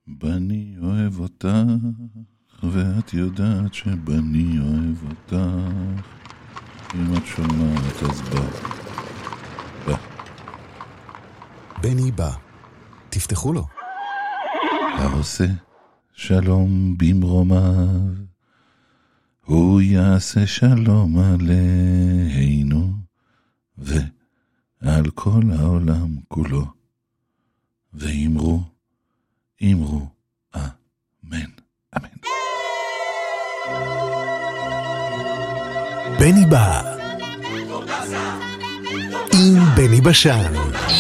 בני אוהב אותך, ואת יודעת שבני אוהב אותך. אם את שומעת אז בא. בני בא, תפתחו לו. העושה שלום במרומיו, הוא יעשה שלום עלינו ועל כל העולם כולו. ואמרו אמן, אמן. בני בא עם בני בשן.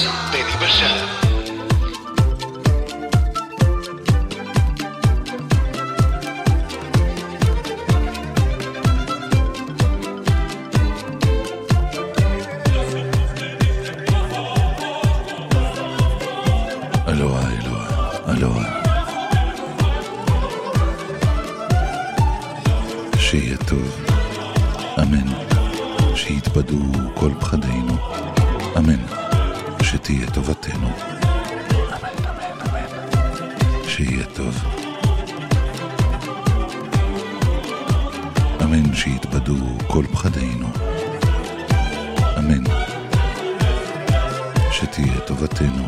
אלוהה, שיהיה טוב, אמן, שיתבדו כל פחדינו, אמן, שתהיה טובתנו, אמן, אמן, אמן, שיהיה טוב, אמן, שיתבדו כל פחדינו, אמן, שתהיה טובתנו,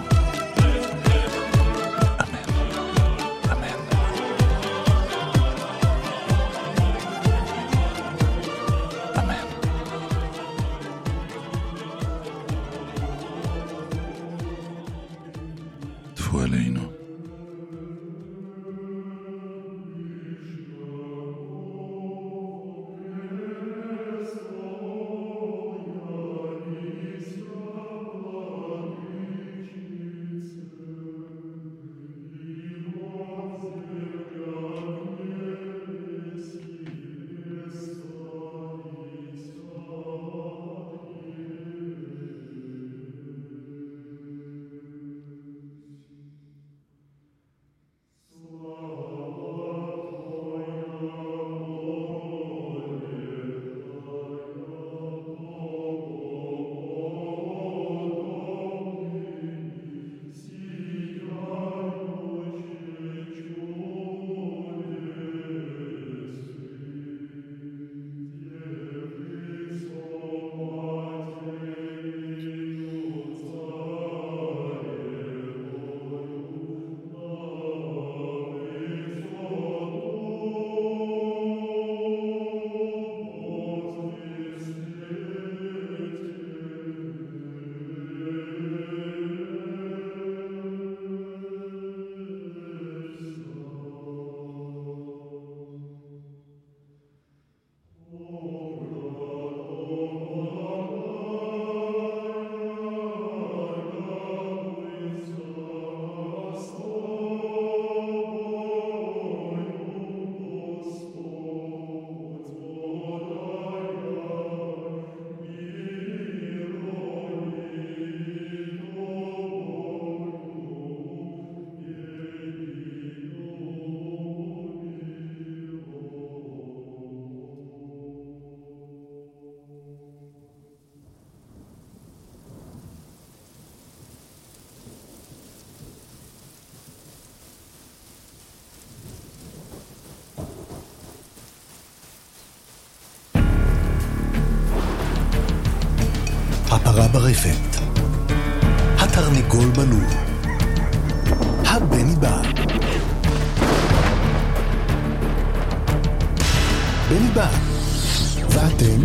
עלינו. הפרה ברפת, התרנגול בלול, הבני בא. בני בא, ואתם?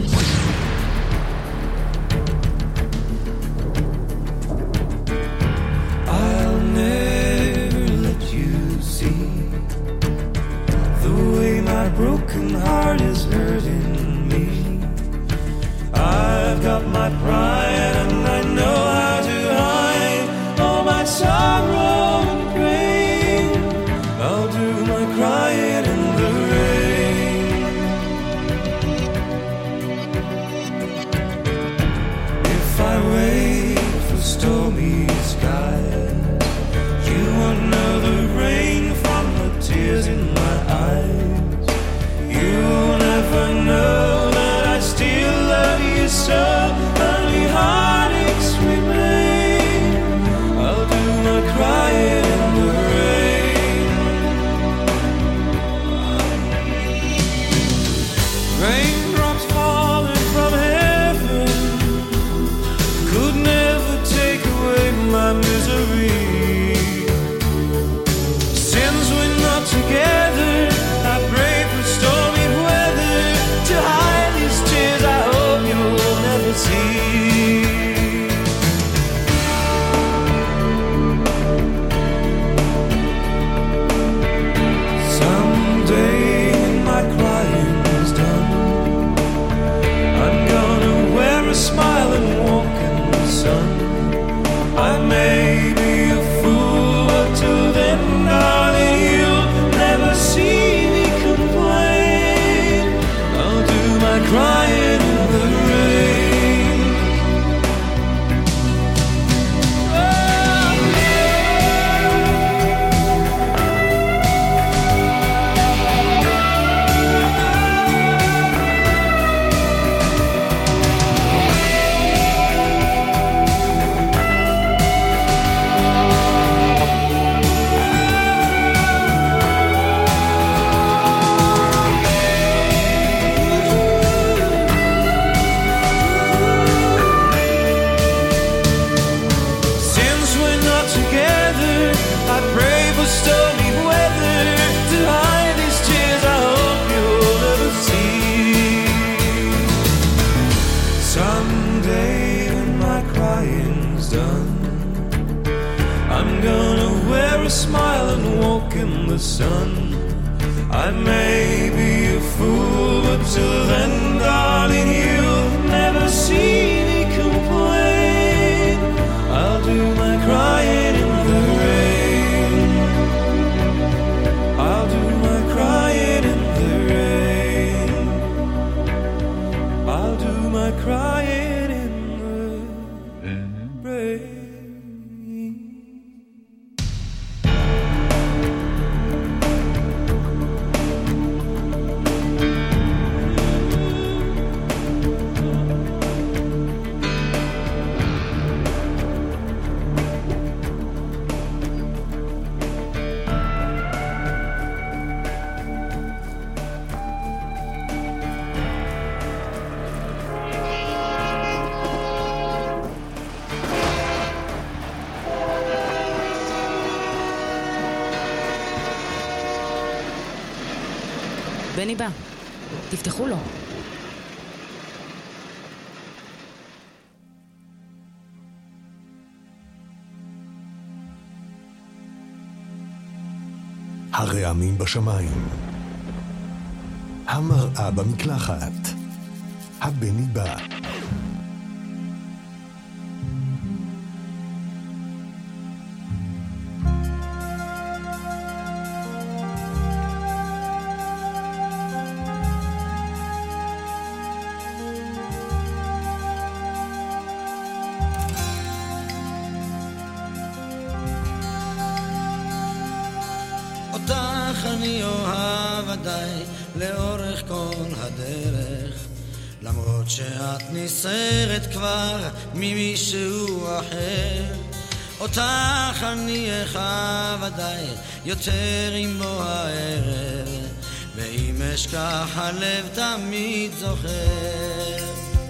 I'll never let you see the way my broken heart is hurting me. I've got my pride and I know how to hide all my sorrow and pain. I'll do my crying in the rain. the sun. I may be a fool, but till then, darling, you'll never see me complain. I'll do my crying in the rain. I'll do my crying in the rain. I'll do my crying in the rain. בני בא, תפתחו לו. הרעמים בשמיים, המראה במקלחת, הבני בא. אני אוהב עדיי לאורך כל הדרך, למרות שאת נסערת כבר ממישהו אחר. אותך אני אחב עדיי יותר עם בוא הערב, ואם אשכח הלב תמיד זוכר.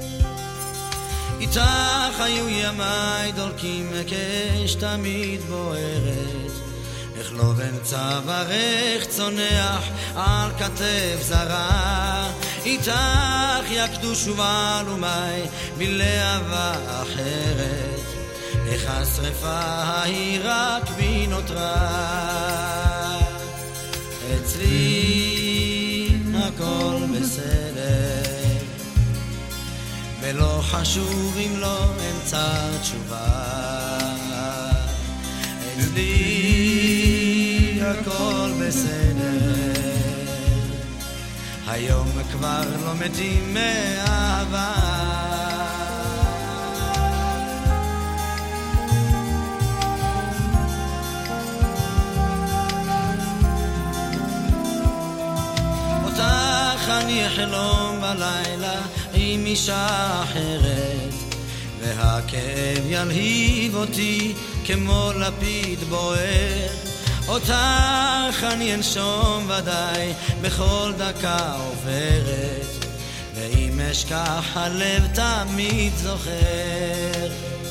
איתך היו ימיי דולקים מקש תמיד בוערת, איך לא בן צווארך צונח על כתף זרה. איתך יקדו שובה לומי בלהבה אחרת, איך השרפה ההיא רק בי נותרה. אצלי הכל בסדר, ולא חשוב אם לא אמצא תשובה. אצלי הכל בסדר, היום כבר לא מתים מאהבה. אותך אני אחלום בלילה עם אישה אחרת, והכאב ילהיב אותי כמו לפיד בוער. אותך אני אנשום ודאי בכל דקה עוברת, ואם אשכח הלב תמיד זוכר.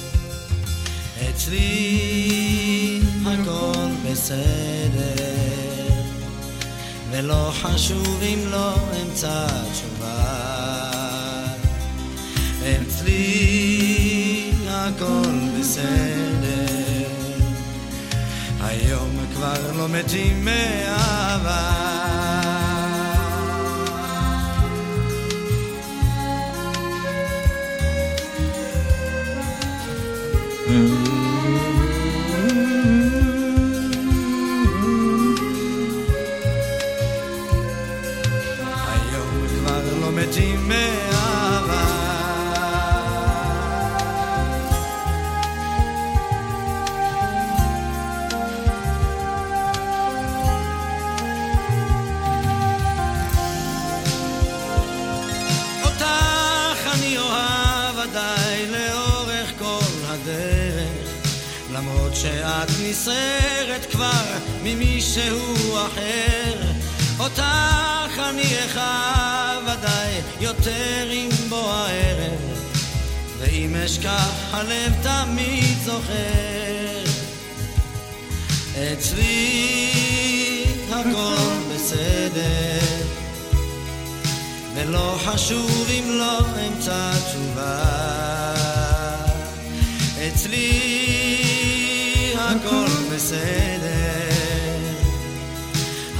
אצלי הכל בסדר, ולא חשוב אם לא אמצא תשובה. אצלי הכל בסדר, היום כבר לא מתים מאהבה. היום כבר לא מתים מאהבה. למרות שאת נסערת כבר ממישהו אחר, אותך אני אחב ודאי יותר עם בוא הערב, ואם אשכח הלב תמיד זוכר. אצלי הכל בסדר, ולא חשוב אם לא אמצא תשובה. אצלי הכל בסדר,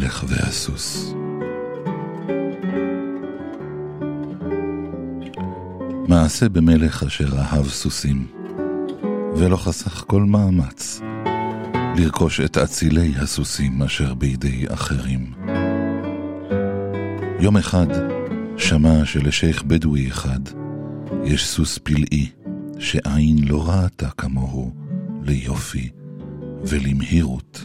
המלך והסוס. מעשה במלך אשר אהב סוסים, ולא חסך כל מאמץ לרכוש את אצילי הסוסים אשר בידי אחרים. יום אחד שמע שלשייך בדואי אחד יש סוס פלאי שעין לא ראתה כמוהו ליופי ולמהירות.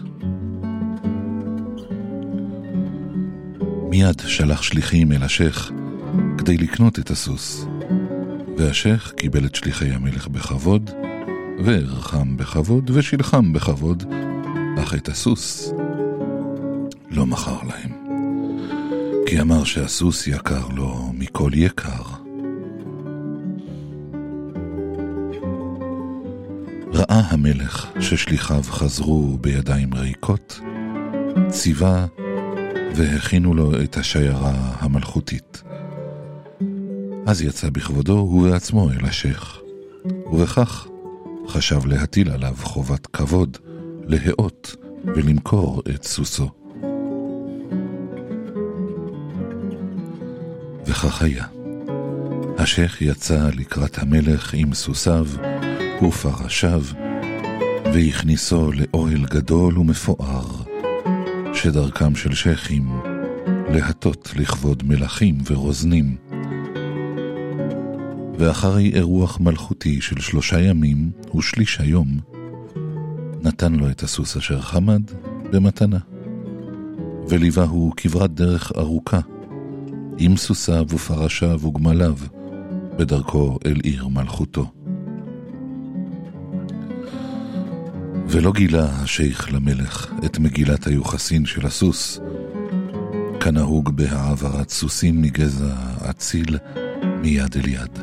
מיד שלח שליחים אל השייך כדי לקנות את הסוס, והשייך קיבל את שליחי המלך בכבוד, וערכם בכבוד ושילחם בכבוד, אך את הסוס לא מכר להם, כי אמר שהסוס יקר לו מכל יקר. ראה המלך ששליחיו חזרו בידיים ריקות, ציווה והכינו לו את השיירה המלכותית. אז יצא בכבודו ובעצמו אל השייך, ובכך חשב להטיל עליו חובת כבוד, להאות ולמכור את סוסו. וכך היה. השייך יצא לקראת המלך עם סוסיו ופרשיו, והכניסו לאוהל גדול ומפואר, שדרכם של שייכים להטות לכבוד מלכים ורוזנים. ואחרי אירוח מלכותי של 3 ימים ושליש היום, נתן לו את הסוס אשר חמד במתנה, וליווה הוא כברת דרך ארוכה, עם סוסיו ופרשיו וגמליו, בדרכו אל עיר מלכותו. ולא גילה השייך למלך את מגילת היוחסין של הסוס, כנהוג בהעברת סוסים מגזע אציל מיד אל יד.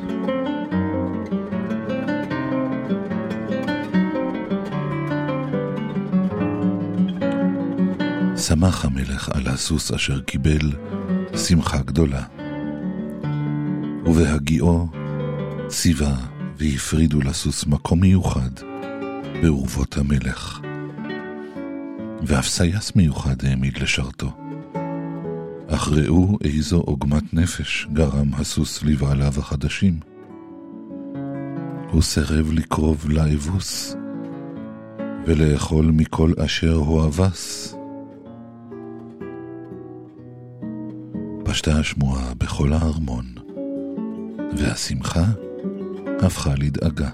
שמח המלך על הסוס אשר קיבל שמחה גדולה, ובהגיעו ציווה והפרידו לסוס מקום מיוחד באורבות המלך, ואף סייס מיוחד העמיד לשרתו. אך ראו איזו עוגמת נפש גרם הסוס לבעליו החדשים. הוא סירב לקרוב לאבוס ולאכול מכל אשר הוא אבס. פשטה השמועה בכל הארמון, והשמחה הפכה לדאגה.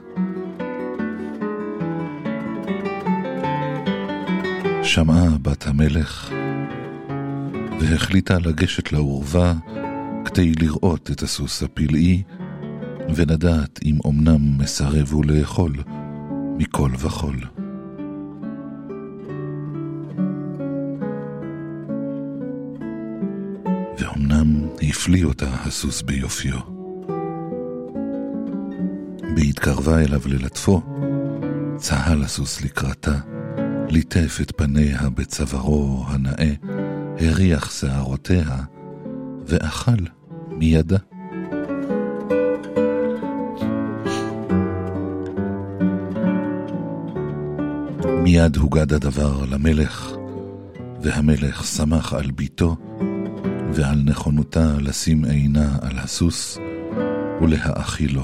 שמעה בת המלך והחליטה לגשת לאורווה כדי לראות את הסוס הפלאי ולדעת אם אומנם מסרב הוא לאכול מכל וכל. ואומנם הפליא אותה הסוס ביופיו. בהתקרבה אליו ללטפו, צהל הסוס לקראתה, ליטף את פניה בצווארו הנאה, הריח שערותיה ואכל מידה. מיד הוגד הדבר למלך, והמלך שמח על ביתו ועל נכונותה לשים עינה על הסוס ולהאכילו.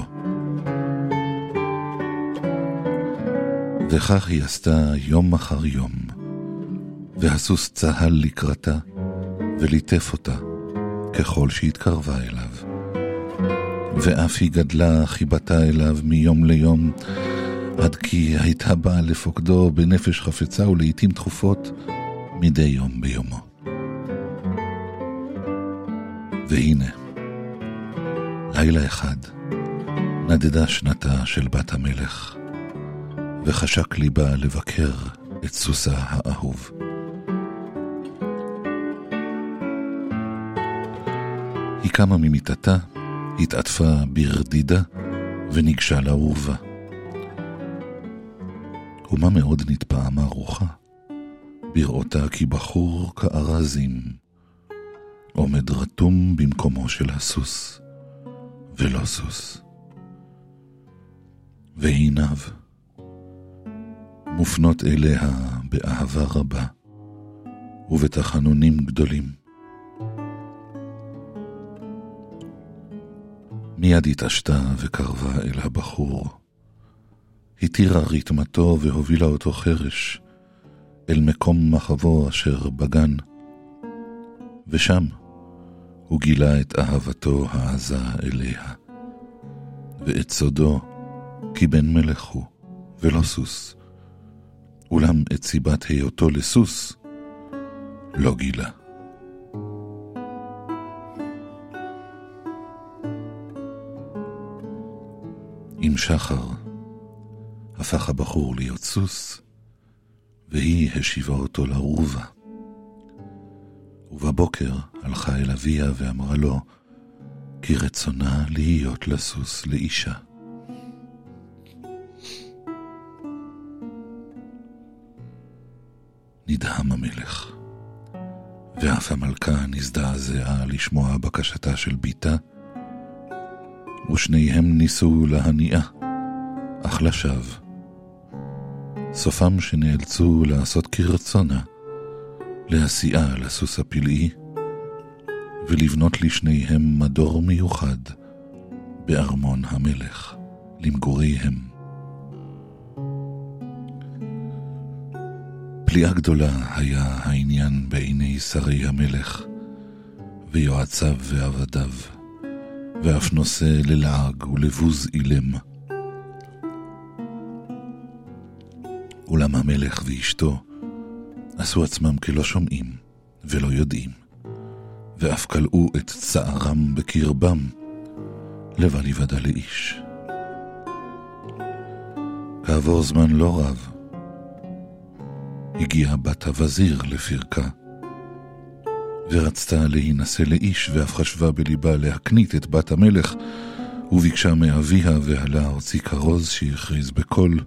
וכך היא עשתה יום אחר יום, והסוס צהל לקראתה וליטף אותה ככל שהתקרבה אליו, ואף היא גדלה חיבתה אליו מיום ליום, עד כי הייתה באה לפוקדו בנפש חפצה ולעיתים תכופות מדי יום ביומו. והנה, לילה אחד נדדה שנתה של בת המלך, וחשק ליבה לבקר את סוסה האהוב. היא קמה ממיטתה, התעטפה ברדידה וניגשה לאורווה. ומה מאוד נתפעה מהרוחה, בראותה כי בחור כארזים עומד רתום במקומו של הסוס, ולא סוס. ועיניו מופנות אליה באהבה רבה, ובתחנונים גדולים. מיד התעשתה וקרבה אל הבחור. התירה ריתמתו והובילה אותו חרש אל מקום מחבו אשר בגן, ושם הוא גילה את אהבתו העזה אליה, ואת סודו כי בן מלך הוא ולא סוס, אולם את סיבת היותו לסוס לא גילה. עם שחר הפך הבחור להיות סוס, והיא השיבה אותו לרובה. ובבוקר הלכה אל אביה ואמרה לו כי רצונה להיות לסוס לאישה. נדהם המלך, ואף המלכה נזדעזעה לשמוע בקשתה של ביתה, ושניהם ניסו להניעה, אך לשווא. סופם שנאלצו לעשות כרצונה, להסיעה לסוס הפלאי, ולבנות לשניהם מדור מיוחד בארמון המלך למגוריהם. פליאה גדולה היה העניין בעיני שרי המלך ויועציו ועבדיו, ואף נושא ללעג ולבוז אילם. אולם המלך ואשתו עשו עצמם כלא שומעים ולא יודעים, ואף קלעו את צערם בקרבם לבל יוודע לאיש. כעבור זמן לא רב הגיעה בת הווזיר לפרקה, ורצתה להינשא לאיש, ואף חשבה בליבה להקנית את בת המלך, וביקשה מאביה, ועלה הוציא כרוז שהכריז בקול: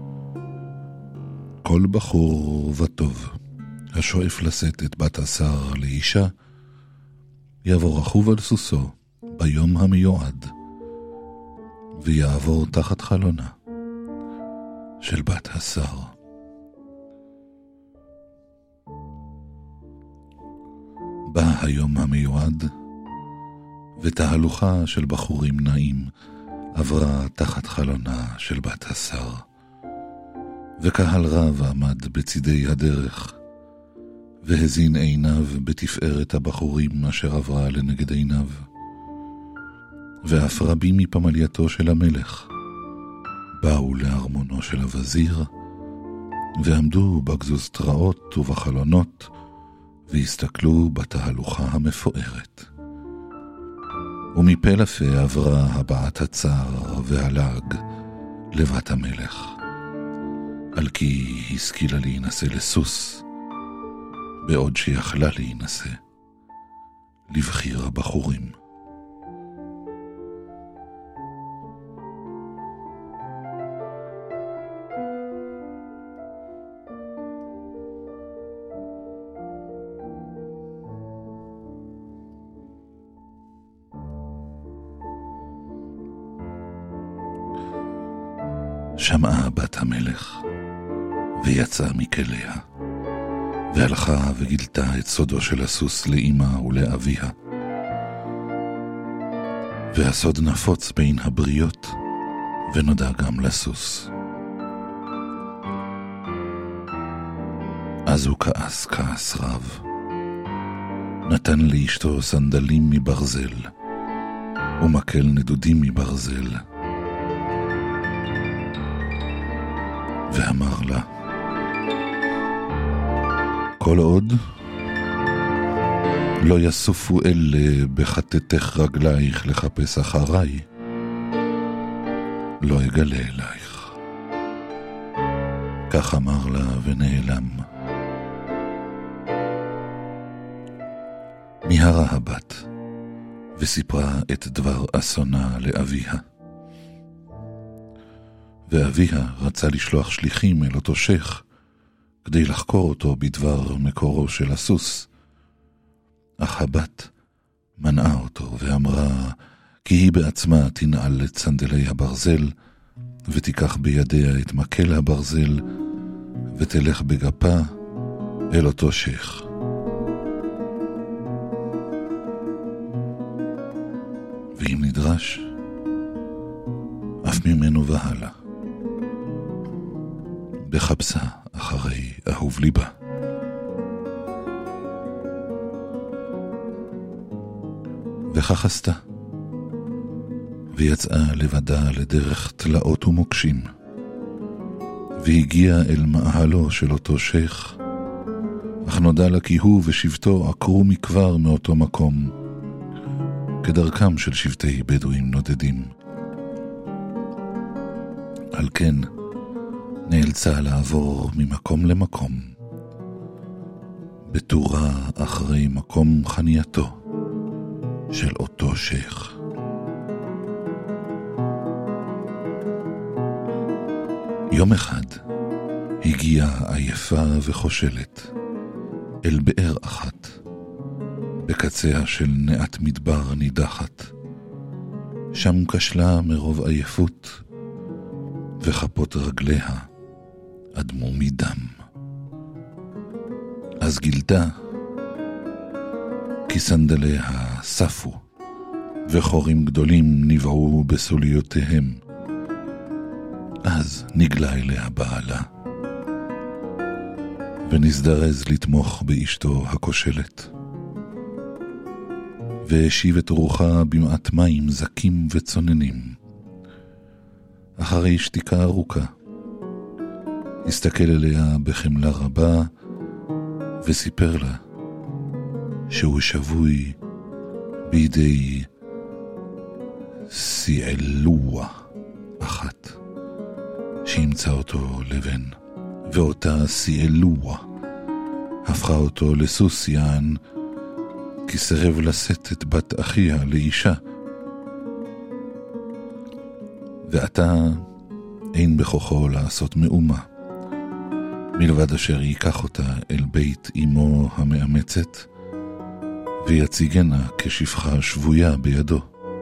כל בחור וטוב השואף לשאת את בת השר לאישה, יעבור רכוב על סוסו ביום המיועד, ויעבור תחת חלונה של בת השר. בא היום המיועד, ותהלוכה של בחורים נעים עברה תחת חלונה של בת השר, וקהל רב עמד בצידי הדרך, והזין עיניו בתפארת הבחורים אשר עברה לנגד עיניו. ואף רבים מפמלייתו של המלך באו לארמונו של הווזיר, ועמדו בגזוסטראות ובחלונות, והסתכלו בתהלוכה המפוארת. ומפה לפה עברה הבעת הצער והלעג לבת המלך, על כי השכילה להינשא לסוס, בעוד שיכלה להינשא לבחיר הבחורים. שמעה בת המלך ויצאה מכליה, והלכה וגילתה את סודו של הסוס לאמא ולאביה. והסוד נפוץ בין הבריות, ונודע גם לסוס. אז הוא כעס רב, נתן לאשתו סנדלים מברזל ומקל נדודים מברזל, ואמר לה: כל עוד לא יסופו אלה בחטטך רגלייך לחפש אחריי, לא אגלה אלייך. כך אמר לה ונעלם. מיהרה הבת וסיפרה את דבר אסונה לאביה. ואביה רצה לשלוח שליחים אל אותו שייך כדי לחקור אותו בדבר מקורו של הסוס, אך הבת מנעה אותו ואמרה כי היא בעצמה תנעל את סנדלי הברזל, ותיקח בידיה את מקל הברזל, ותלך בגפה אל אותו שייך חדש, אף ממנו והלאה. בחפשה אחרי אהוב ליבה. וכך עשתה, ויצאה לבדה לדרך תלאות ומוקשים, והגיעה אל מאהלו של אותו שייך, אך נודע לה כי הוא ושבטו עקרו מכבר מאותו מקום, כדרכם של שבטי בדואים נודדים. על כן נאלצה לעבור ממקום למקום, בתורה אחרי מקום חנייתו של אותו שייך. יום אחד הגיעה עייפה וחושלת אל באר אחת, בקציה של נעת מדבר נידחת. שם כשלה מרוב עייפות, וכפות רגליה אדמו מדם. אז גילתה כי סנדליה ספו, וחורים גדולים נבעו בסוליותיהם. אז נגלה אליה בעלה, ונזדרז לתמוך באשתו הכושלת, והשיב את רוחה במעט מים זקים וצוננים. אחרי שתיקה ארוכה הסתכל אליה בחמלה רבה, וסיפר לה שהוא שבוי בידי סיעלוה אחת שימצא אותו לבן, ואותה סיעלוה הפכה אותו לסוס יען, כי סירב לשאת את בת אחיה לאישה. ועתה אין בכוחו לעשות מאומה, מלבד אשר ייקח אותה אל בית אמו המאמצת, ויציגנה כשפחה שבויה בידו.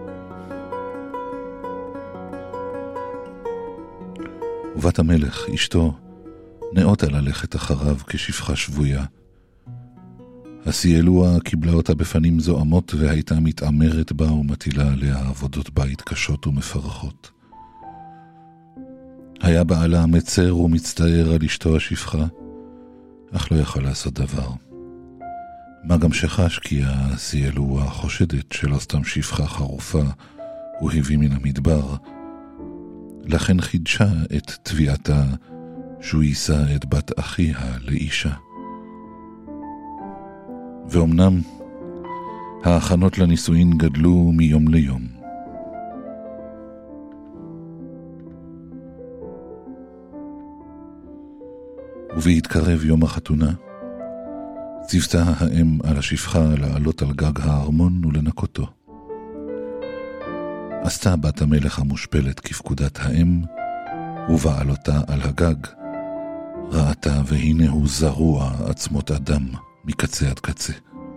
ובת המלך, אשתו, נאותה ללכת אחריו כשפחה שבויה. הסיעלוה קיבלה אותה בפנים זועמות, והייתה מתאמרת בה ומטילה עליה עבודות בית קשות ומפרכות. היה בעלה מצר ומצטער על אשתו השפחה, אך לא יכול לעשות דבר. מה גם שחש כי הסיעלוה חושדת שלא סתם שפחה חרופה הוא הביא מן המדבר, לכן חידשה את תביעתה שהוא יישא את בת אחיה לאישה. ואומנם ההכנות לנישואין גדלו מיום ליום. ובהתקרב יום החתונה, ציוותה האם על השפחה לעלות על גג הארמון ולנקותו. עשתה בת המלך המושפלת כפקודת האם, ובעלותה על הגג ראתה והנה הוא זרוע עצמות אדם מקצה עד קצה.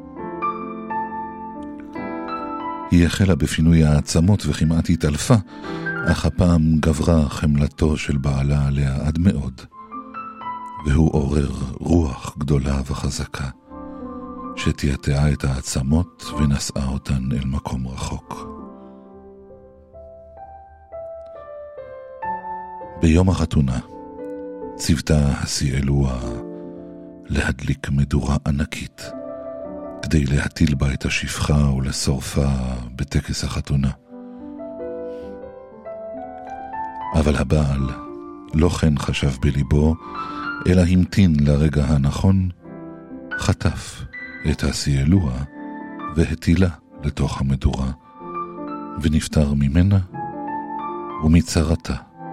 היא החלה בפינוי העצמות וכמעט התעלפה, אך הפעם גברה חמלתו של בעלה עליה עד מאוד, והוא עורר רוח גדולה וחזקה, שתיעתעה את העצמות ונשאה אותן אל מקום רחוק. ביום החתונה ציוותה הסיעלוה להדליק מדורה ענקית, כדי להטיל בה את השפחה ולשורפה בטקס החתונה. אבל הבעל לא כן חשב בליבו, אלא המתין לרגע הנכון, חטף את הסיעלוה והטילה לתוך המדורה, ונפטר ממנה ומצרתה.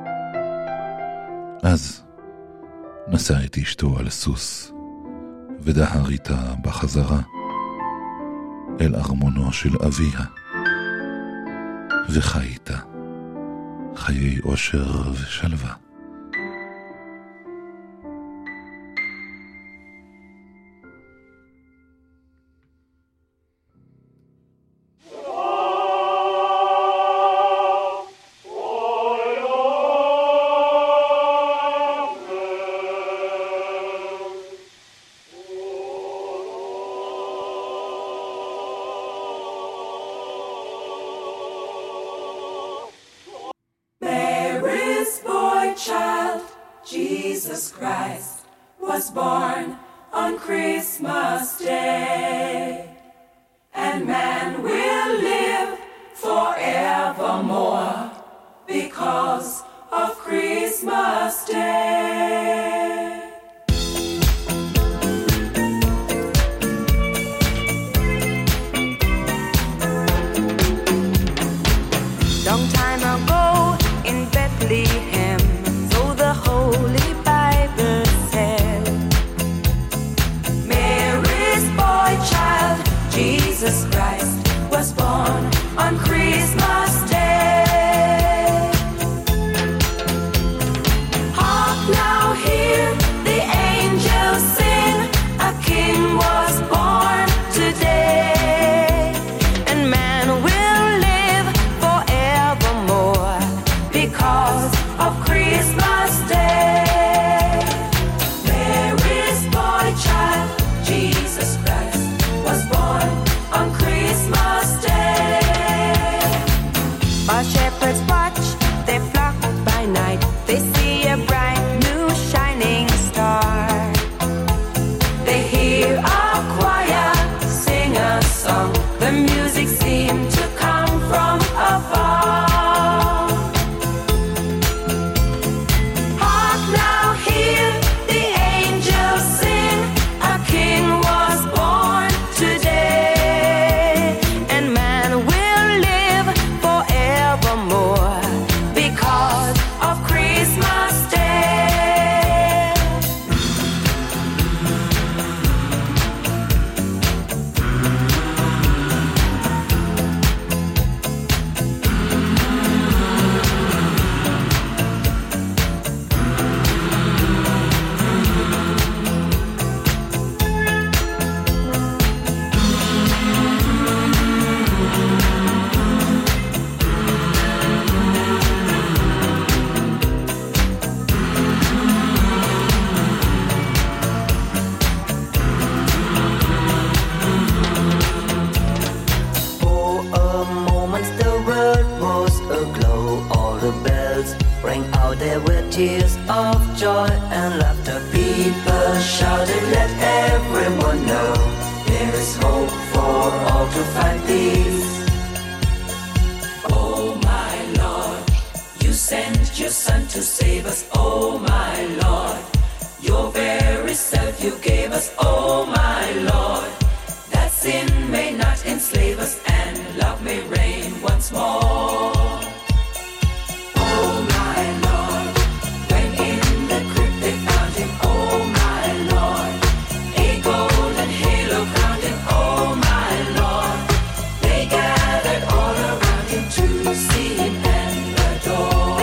אז נשא את אשתו על סוס, ודהר איתה בחזרה אל ארמונו של אביה, וחי איתה חיי אושר ושלווה. Jesus Christ was born on Christmas Day, and man will live forevermore because of Christmas Day. Long time ago in Bethlehem, so the Holy Bible said, Mary's boy child, Jesus Christ, was born on Christmas Day. Hark now, hear the angels sing, a king was born today, and man will live forevermore because of Christmas Day. Mary's boy child, Jesus Christ, was born on Christmas Day. While shepherds watch their flock by night, they see a bright new shining star. They hear a choir sing a song, the music seemed to come from afar. Hark now, hear the angels sing, a king was born today, and man will live forevermore because of Christmas Day. For a moment the world was aglow. All the bells rang out, there were tears of joy and laughter. People shouted, let everyone know there is hope for all to find peace. Oh my Lord, you sent your Son to save us. Oh my Lord, your very self you gave us. Oh my Lord, that sin may not enslave us and love may reign once more. Oh my Lord, when in the crypt they found him. Oh my Lord, a golden halo crowned him. Oh my Lord, they gathered all around him to see him and adore.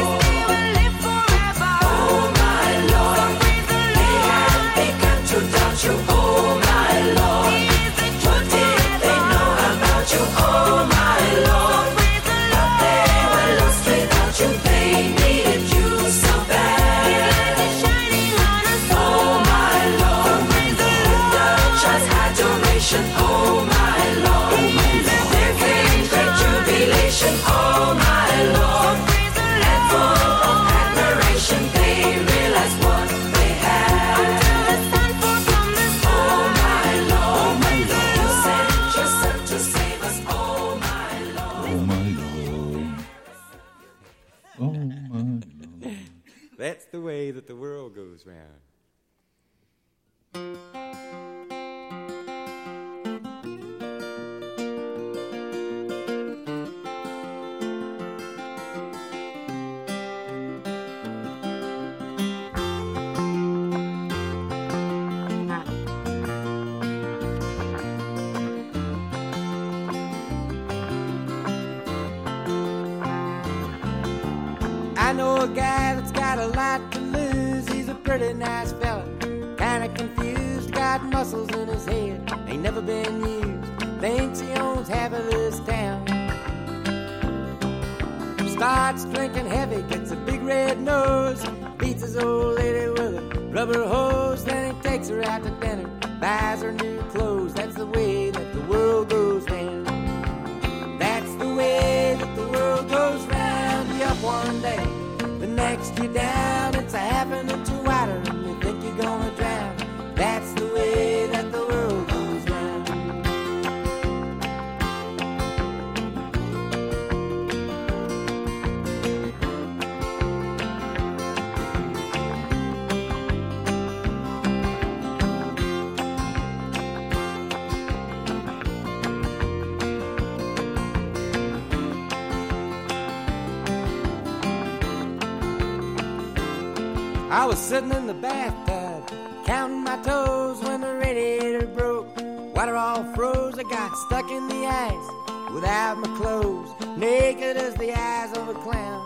Oh my Lord, they had begun to doubt you. Oh my Lord, what did they know about you? Oh my Lord, but they were lost without you. They needed you so bad. Oh my Lord, the child's adoration. Oh my Lord, there came great jubilation. Oh my Lord, and full of admiration they realized what they had. Oh my Lord, you sent yourself to save us. Oh my Lord. Oh my Lord. Oh my Lord. That's the way that the world goes round. I know a guy that's got a lot to lose. He's a pretty nice fella, kinda confused, got muscles in his head, ain't never been used, thinks he owns half of this town. Starts drinking heavy, gets a big red nose, beats his old lady with a rubber hose, then he takes her out to dinner, buys her new clothes. That's the way that the world goes round. That's the way that the world goes round. You up one day, the next you down. It's a happening to I was sitting in the bathtub, counting my toes when the radiator broke. Water all froze, I got stuck in the ice without my clothes, naked as the eyes of a clown.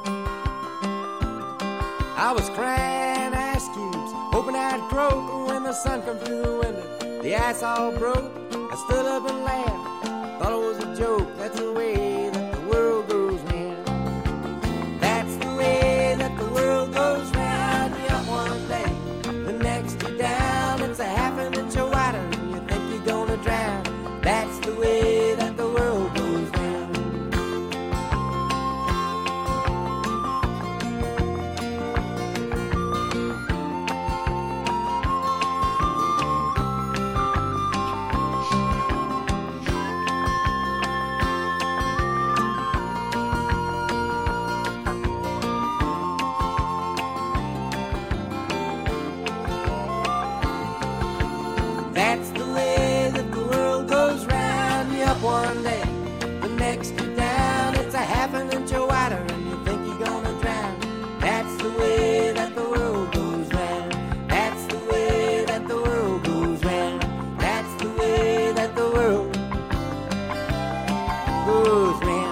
I was crying ice cubes, hoping I'd croak when the sun come through the window. The ice all broke, I stood up and laughed, thought it was a joke. That's the way that the world goes round. That's the way that the world goes round. You're up one day, the next you're down. It's a half an inch of water and you think you're gonna drown. That's the way that the world goes round. That's the way that the world goes round. You're up one day, the next you're down. It's a half an inch of water and you think you're gonna drown. That's the way that the world goes round. That's the way that the world goes round. That's the way that the world goes round.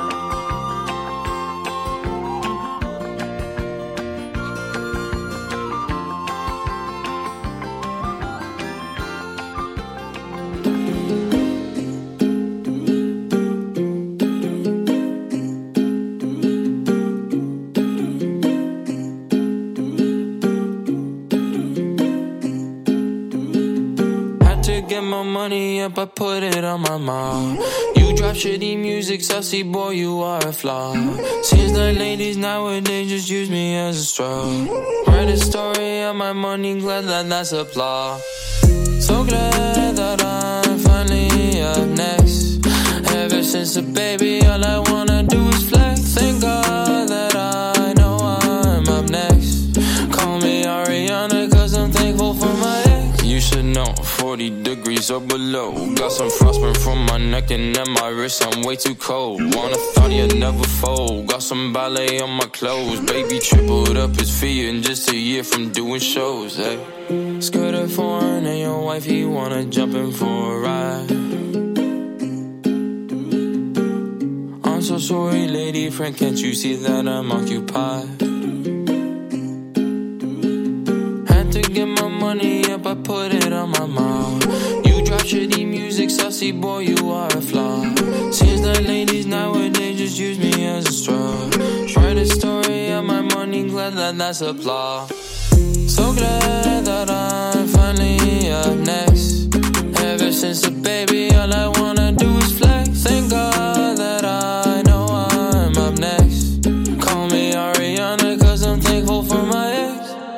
Get my money up, I put it on my mom. You drop shitty music, sussy boy, you are a flaw. Seems like ladies nowadays just use me as a straw. Write a story on my money, glad that that's applause. So glad that I'm finally up next. Ever since a baby, all I wanna do is flex. Thank God that I know I'm up next. Call me Ariana, cause I'm thankful for my ex. You should know, 40 degrees or below. Got some frostburn from my neck and at my wrist, I'm way too cold. Wanna thought you'd never fold. Got some ballet on my clothes. Baby tripled up his feet in just a year from doing shows, hey. Skirt her foreign and your wife, he wanna jump in for a ride. I'm so sorry, lady friend, can't you see that I'm occupied? Had to get my money up, I put it on my mom. You drop shitty music, sussy boy, you are a flaw. Seems like ladies nowadays just use me as a straw. Write a story on my money, glad that that's applause. So glad that I'm finally up next. Ever since a baby, all I wanna do is flex. Thank God that I know I'm up next. Call me Ariana, cause I'm thankful for my ex.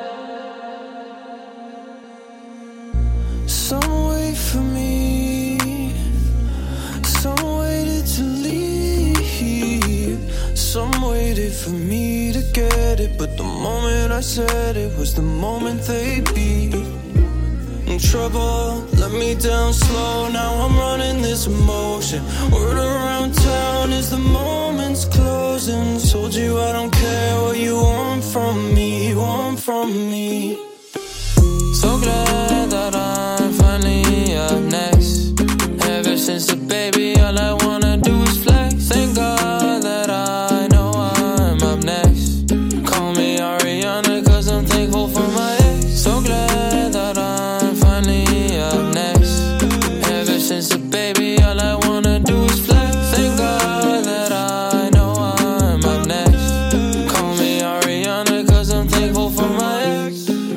Some wait for me, some waited to leave, some waited for me to get it, but the moment I said it was the moment they beat. In trouble, let me down slow, now I'm running this emotion. Word around town is the moment's closing. Told you I don't care what you want from me, want from me. So glad that I'm finally up next. Ever since a baby, all I wanna do is flex. Thank God that I know I'm up next. Call me Ariana, cause I'm thankful for my ex. So glad that I'm finally up next. Ever since a baby, all I wanna do is flex. Thank God that I know I'm up next. Call me Ariana, cause I'm thankful for my ex.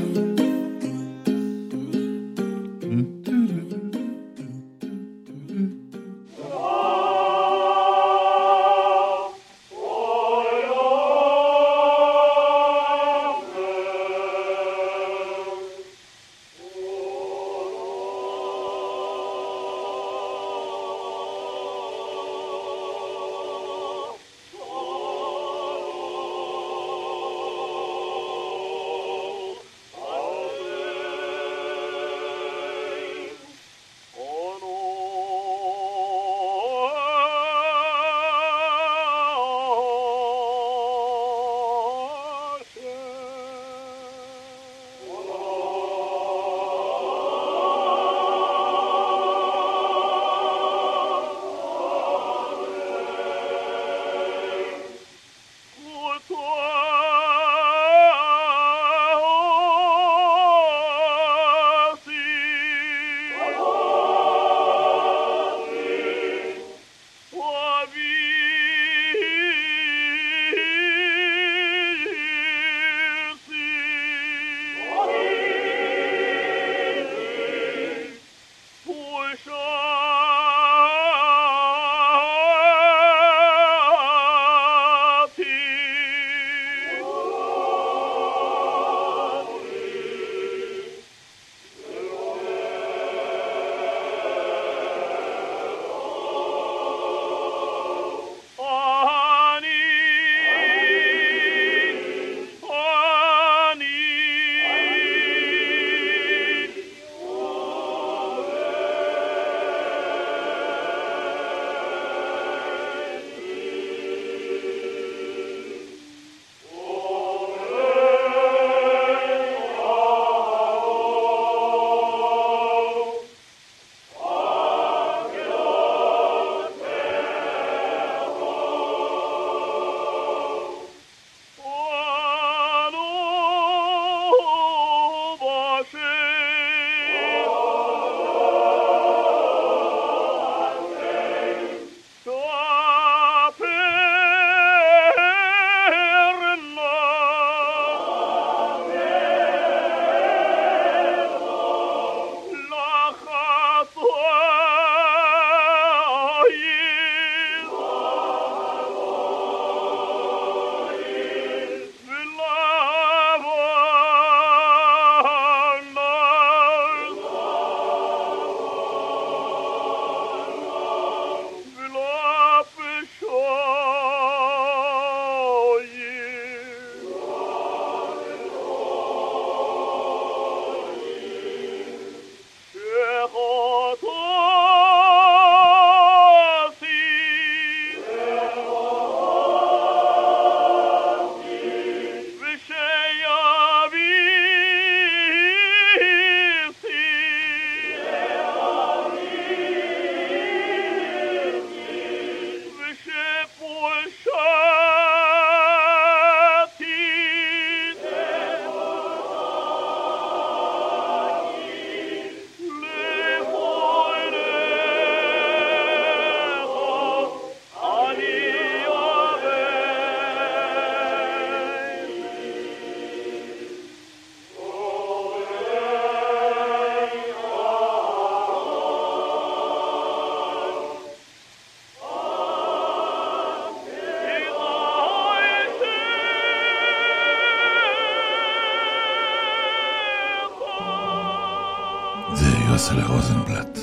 יוסלה רוזנבלט.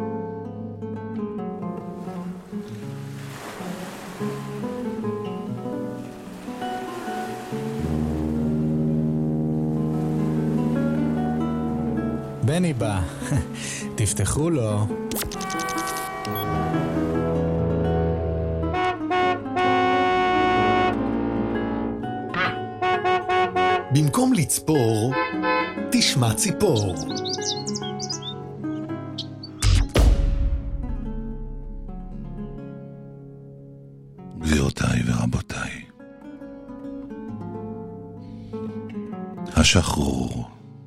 בני בא, תפתחו לו. במקום לצפור, תשמע ציפור. גבירותיי ורבותיי, השחרור.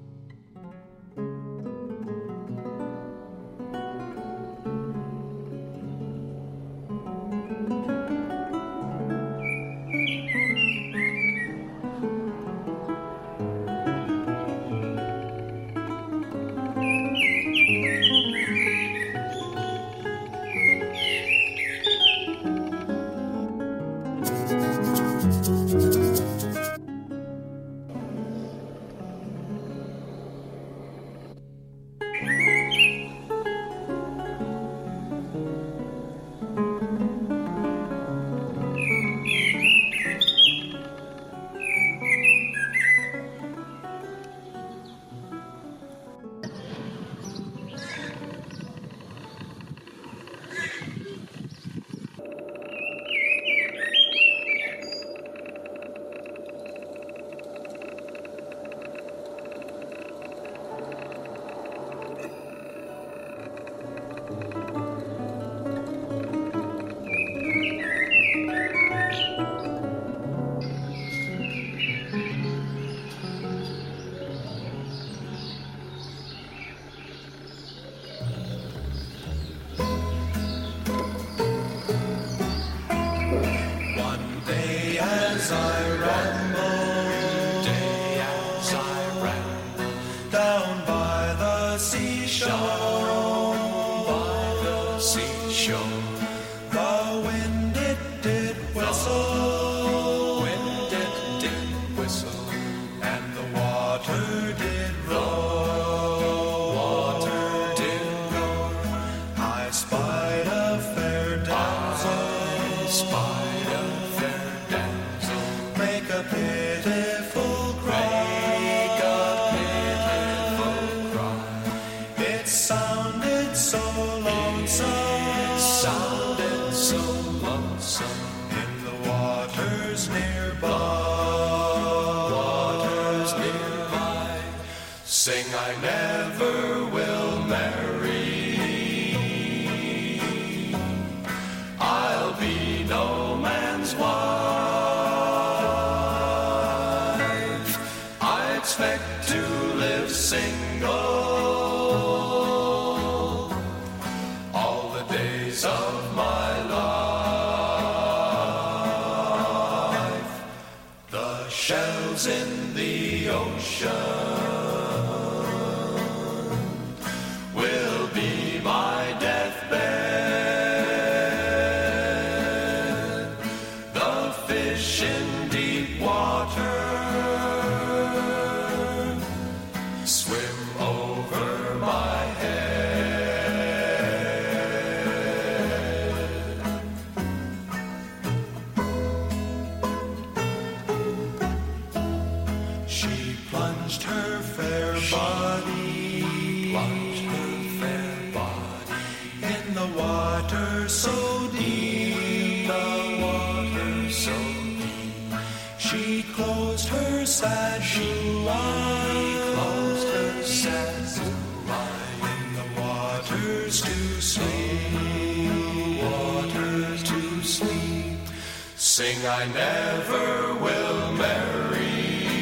Sing, I never will marry.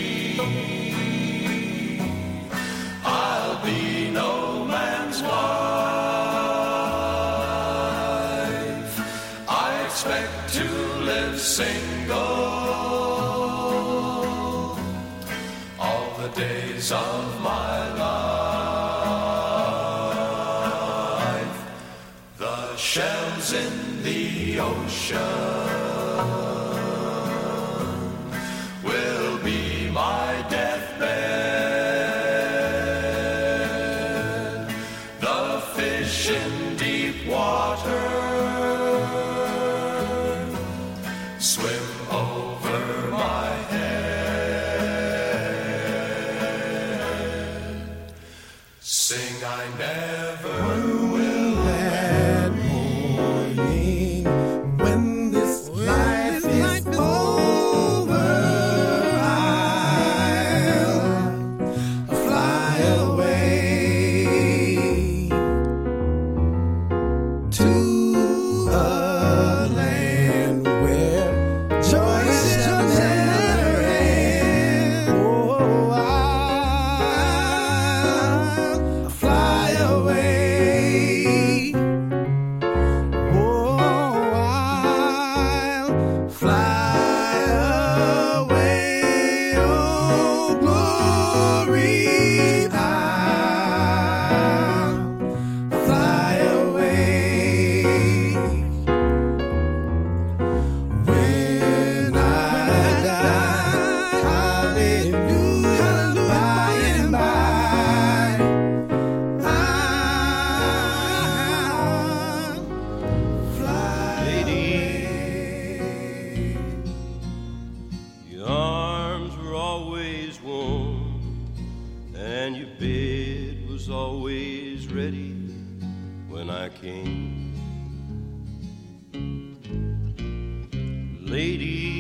I'll be no man's wife. I expect to live single all the days of my life. The shells in the ocean will be my deathbed. The swim over my head. Sing, I never will let morning when this life is over. I'll fly away to a land where joy shall never end. Oh, I'll fly away. Oh, I'll fly away. Oh, glory, I'll fly away. When I die, hallelujah, by and by, I'll fly away. Your arms were always warm, and your bed was always ready when I came. Lady,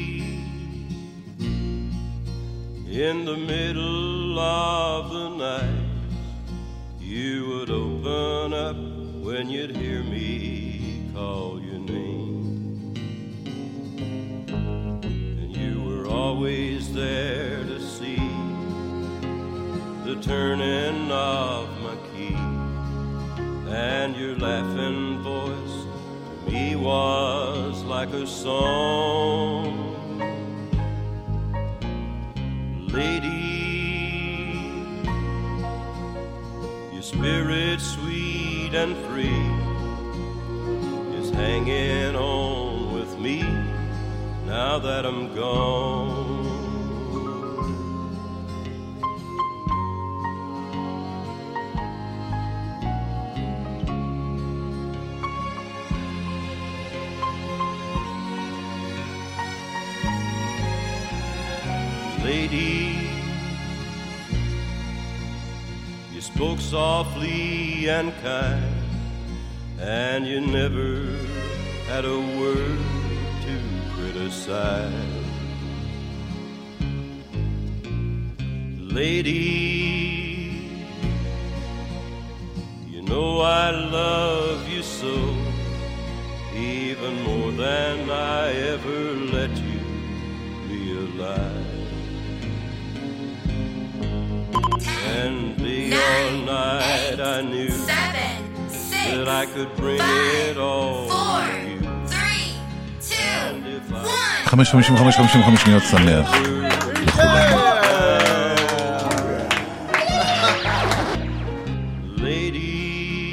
in the middle of the night, you would open up when you'd hear me call your name. And you were always there to see the turning of my key, and your laughing voice to me was like a song. Lady, your spirit sweet and free is hanging on with me now that I'm gone. Lady, you spoke softly and kind, and you never had a word to criticize. Lady, you know I love you so, even more than I ever let you realize. And day or night I knew that I could bring it all to you. 5:55 שניות שמח לכולם. Lady,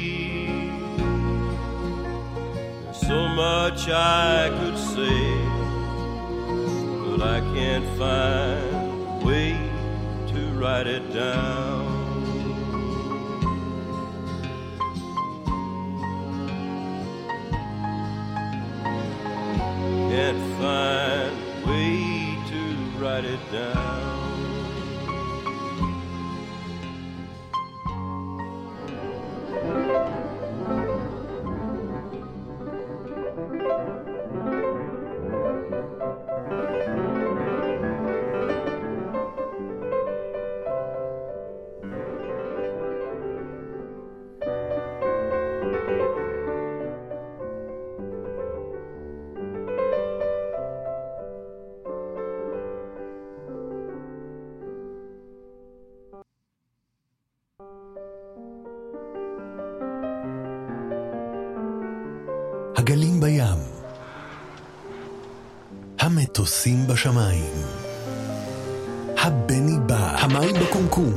there's so much I could say, but I can't find a way to write it down. Can't find a way to write it down. הגלים בים, המטוסים בשמיים, הבני בא, המים בקומקום,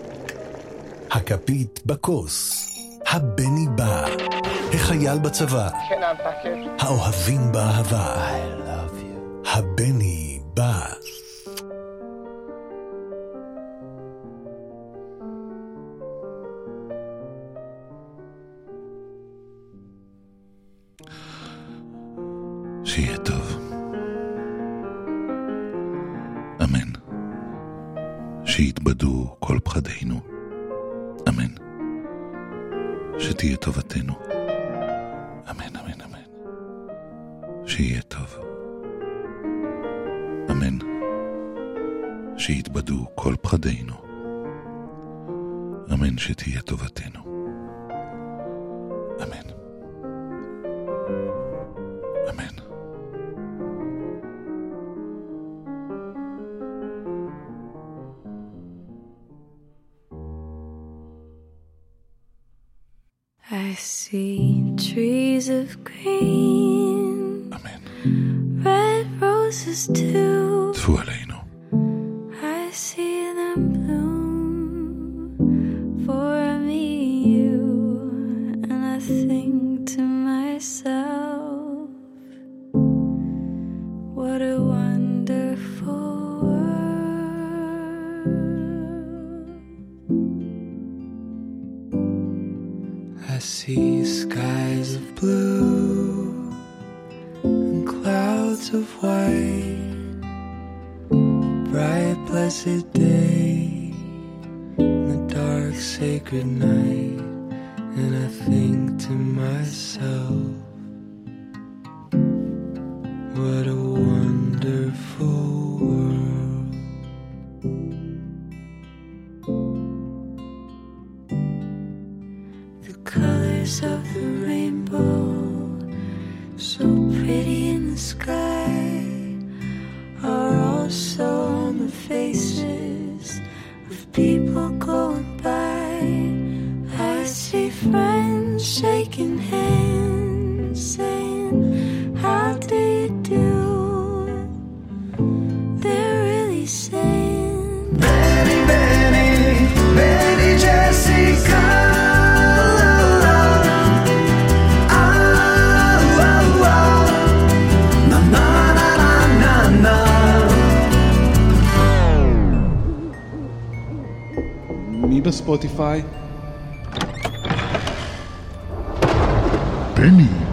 הכפית בכוס, הבני בא, החייל בצבא, האוהבים באהבה, הבני בא. שיהיה טוב. שיתבדו כל פחדינו. אמן. שתהיה טובתנו. אמן, אמן, אמן. שיהיה טוב. אמן. שיתבדו כל פחדינו. אמן, שתהיה טובתנו. אמן. אמן. I see trees of green, Amen. red roses too. טפו עלינו. I see them bloom for me, you, and I think to myself, what a wonderful I see skies of blue and clouds of white, bright blessed day and the dark sacred night, and I think to myself, what a wonderful world. The colors of the rainbow, so pretty in the sky, are also on the faces of people going by. I see friends shaking hands, saying, how do you do? They're really saying, Benny, Benny, Benny Jessica. מי בספוטיפיי? בני